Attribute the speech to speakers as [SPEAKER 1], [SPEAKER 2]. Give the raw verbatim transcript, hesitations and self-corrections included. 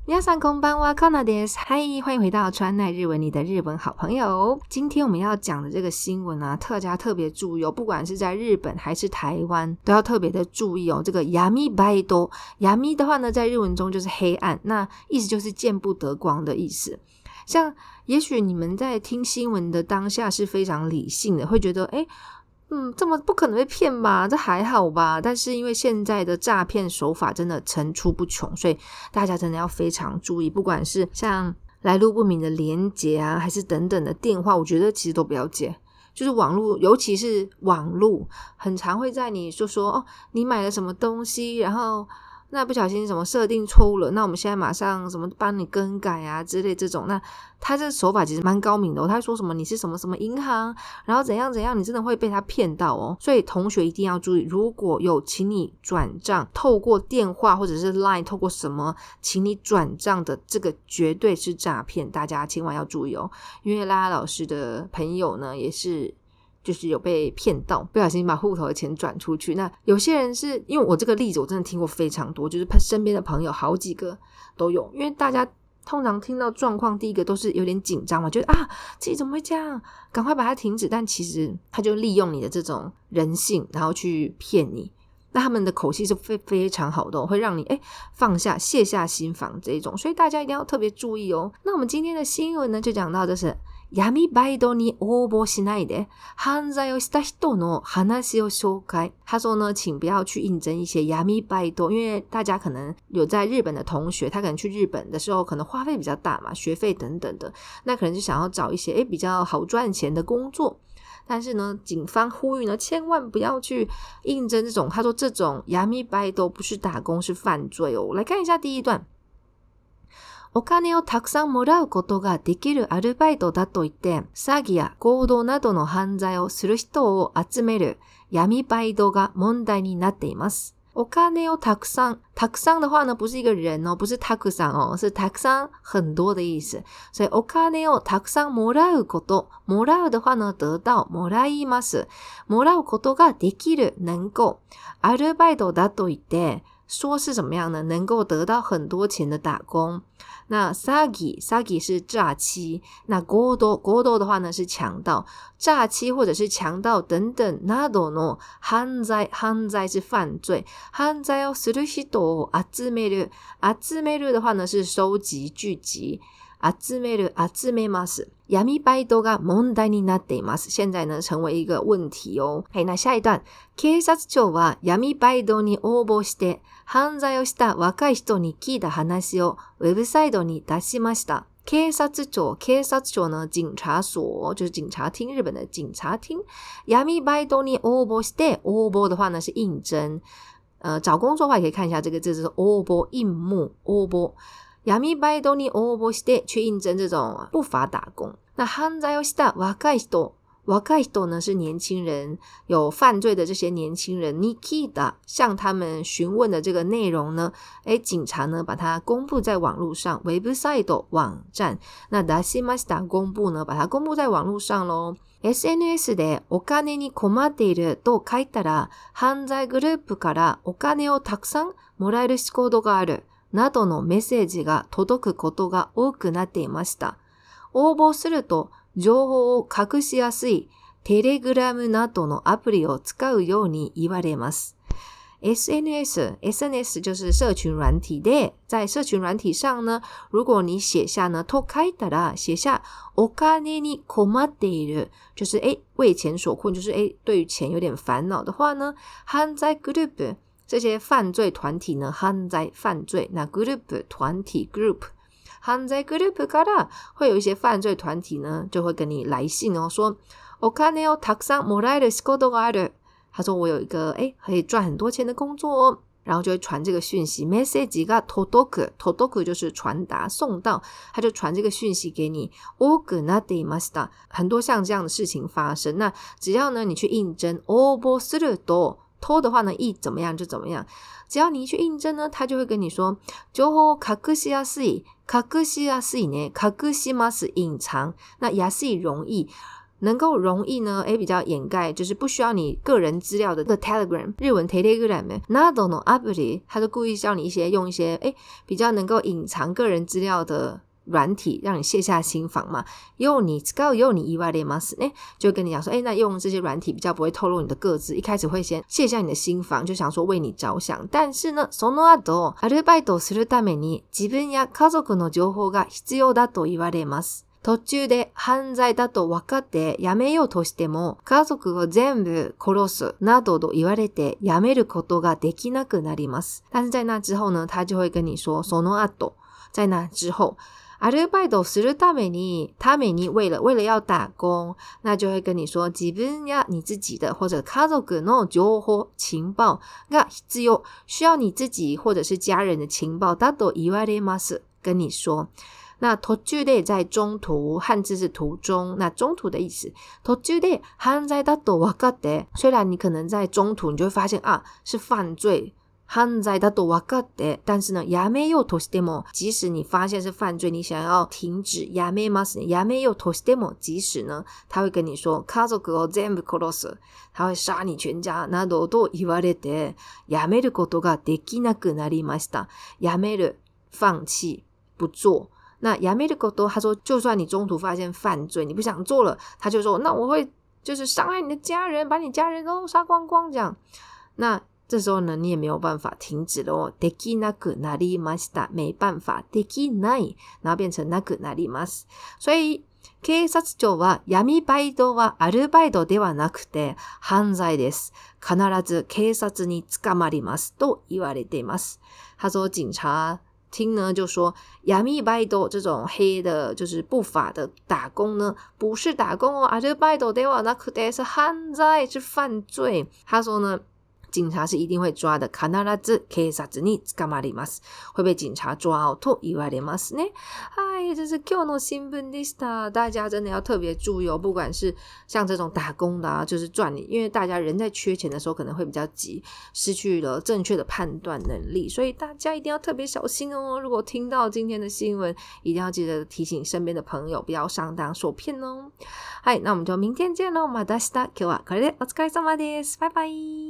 [SPEAKER 1] 皆さんこんばんは，カナです。嗨，歡迎回到川奈日文，你的日文好朋友。今天我們要講的這個新聞啊，大家特別注意哦，不管是在日本還是台灣，都要特別的注意哦。這個闇バイト，闇的話呢，在日文中就是黑暗，那意思就是見不得光的意思。像也許你們在聽新聞的當下是非常理性的，會覺得誒嗯，這麼不可能被騙吧？這還好吧？但是因為現在的詐騙手法真的層出不窮，所以大家真的要非常注意。不管是像來路不明的連結啊，還是等等的電話，我覺得其實都不要接。就是網絡，尤其是網絡，很常會在你就說哦，你買了什麼東西，然後那不小心什麼設定錯誤了，那我們現在馬上什麼幫你更改啊之類這種，那他這手法其實蠻高明的哦。他會說什麼你是什麼什麼銀行，然後怎樣怎樣，你真的會被他騙到哦。所以同學一定要注意，如果有請你轉賬，透過電話或者是 LINE， 透過什麼請你轉賬的，這個絕對是詐騙，大家千萬要注意哦。因為拉拉老師的朋友呢，也是就是有被騙到，不小心把戶頭的錢轉出去。那有些人是因為我這個例子我真的聽過非常多，就是身邊的朋友好幾個都有。因為大家通常聽到狀況，第一個都是有點緊張嘛，覺得啊自己怎麼會這樣，趕快把它停止。但其實他就利用你的這種人性，然後去騙你。那他們的口氣是非非常好的哦，會讓你誒放下卸下心防這一種。所以大家一定要特別注意哦。那我們今天的新聞呢，就講到的是闇バイトに応募しないで犯罪をした人の話を紹介。他說呢，請不要去應徵一些闇バイト，因為大家可能有在日本的同學，他可能去日本的時候可能花費比較大嘛，學費等等的，那可能就想要找一些誒比較好賺錢的工作。但是呢，警方呼籲呢，千萬不要去應徵這種，他說這種闇バイト不是打工，是犯罪哦。來看一下第一段。お金をたくさんもらうことができるアルバイトだと言って、詐欺や強盜などの犯罪をする人を集める闇バイトが問題になっています。お金をたくさん、たくさん的話呢，不是一個人哦，不是たくさん哦，是たくさん很多的意思。所以お金をたくさんもらうこと、もらう的話呢，得到、もらいます。もらうことができる、能夠。アルバイトだと言って、說是怎麼樣呢？能夠得到很多錢的打工。那詐欺，詐欺是詐欺。那強盜，強盜的話呢是強盜，詐欺或者是強盜等等。などの犯罪，犯罪是犯罪。犯罪をする人を集める，集める的話呢是收集、聚集。集める、集めます。闇バイトが問題になっています。現在呢成為一個問題哦。嘿，那下一段。警察庁は闇バイトに応募して犯罪をした若い人に聞いた話をウェブサイトに出しました。警察庁，警察庁呢，警察所就是警察廳，日本的警察廳。闇バイトに応募して，応募的話呢是應徵，呃，找工作的話也可以看一下這個字，就是応募，應募，応募。闇バイトに応募して去應徵這種不法打工。那犯罪をした若い人，若い人呢是年輕人，有犯罪的這些年輕人。に聞いた，向他們詢問的這個內容呢，誒，警察呢把它公布在網絡上，ウェブサイト網站。那出しました公布呢，把它公布在網絡上咯。エスエヌエス でお金に困っていると書いたら、犯罪グループからお金をたくさんもらえる仕事がある。などのメッセージが届くことが多くなっていました。応募すると情報を隠しやすいテレグラムなどのアプリを使うように言われます。エスエヌエス， エスエヌエス 就是社群軟體で，在社群軟體上呢，如果你寫下呢，と書いたら寫下お金に困っている，就是誒為錢所困，就是誒對於錢有點煩惱的話呢，犯罪グループ。這些犯罪團體呢，犯罪犯罪，那 group 團體 group， 犯罪 group から會有一些犯罪團體呢，就會跟你來信哦，說お金をたくさんもらえる仕事がある。他說我有一個誒可以賺很多錢的工作哦，然後就會傳這個訊息。メッセージが届く，届く就是傳達送到，他就傳這個訊息給你。多くなっていました，很多像這樣的事情發生。那只要呢你去應徵，応募すると。偷的話呢，一怎麼樣就怎麼樣。只要你一去應徵呢，他就會跟你說，情報を隠しやすい，隠しやすいね，隠します隱藏。那やすい容易， 能夠容易呢，誒比較掩蓋，就是不需要你個人資料的這個 Telegram 日文 Telegram などのアプリ，他就故意教你一些用一些誒比較能夠隱藏個人資料的軟體，讓你卸下心防嘛。用你使うように言われますね，就跟你講說，誒那用這些軟體比較不會透露你的個資，一開始會先卸下你的心防，就想說為你着想。但是呢，その後アルバイトをするために自分や家族の情報が必要だと言われます。途中で犯罪だと分かってやめようとしても家族を全部殺すなどと言われてやめることができなくなります。但是在那之後呢，他就會跟你說その後，在那之後アルバイトをするためにために為了為了要打工，那就會跟你說自分や你自己的或者家族の情報情報が必要，需要你自己或者是家人的情報だと言われます，跟你說。那途中で在中途，漢字是途中，那中途的意思。途中で犯罪だと分かって，雖然你可能在中途你就會發現啊是犯罪，犯罪だと分かって，但是呢やめようとしても，即使你發現是犯罪，你想要停止，やめますね，やめようとしても，即使呢他會跟你說家族を全部殺す，他會殺你全家などと言われてやめることができなくなりました。やめる放棄不做。那やめること他說就算你中途發現犯罪你不想做了，他就說那我會就是傷害你的家人，把你家人都殺光光這樣。那這時候呢你也沒有辦法停止了哦，できなくなりました，沒辦法，できない然後變成なくなります。所以警察庁は闇バイトはアルバイトではなくて犯罪です。必ず警察に捕まりますと言われています。他說警察聽呢就說闇バイト這種黑的就是不法的打工呢不是打工哦，アルバイトではなくて是犯罪，是犯罪。他說呢警察是一定會抓的，必ず警察に捕まります，會被警察抓哦と言われますね。嗨，這是今日の新聞でした。大家真的要特別注意哦，不管是像這種打工的啊，就是賺你，因為大家人在缺錢的時候可能會比較急，失去了正確的判斷能力，所以大家一定要特別小心哦。如果聽到今天的新聞，一定要記得提醒身邊的朋友不要上當受騙哦。嗨，那我們就明天見嘍，また明日。今日はこれでお疲れ様です。拜拜。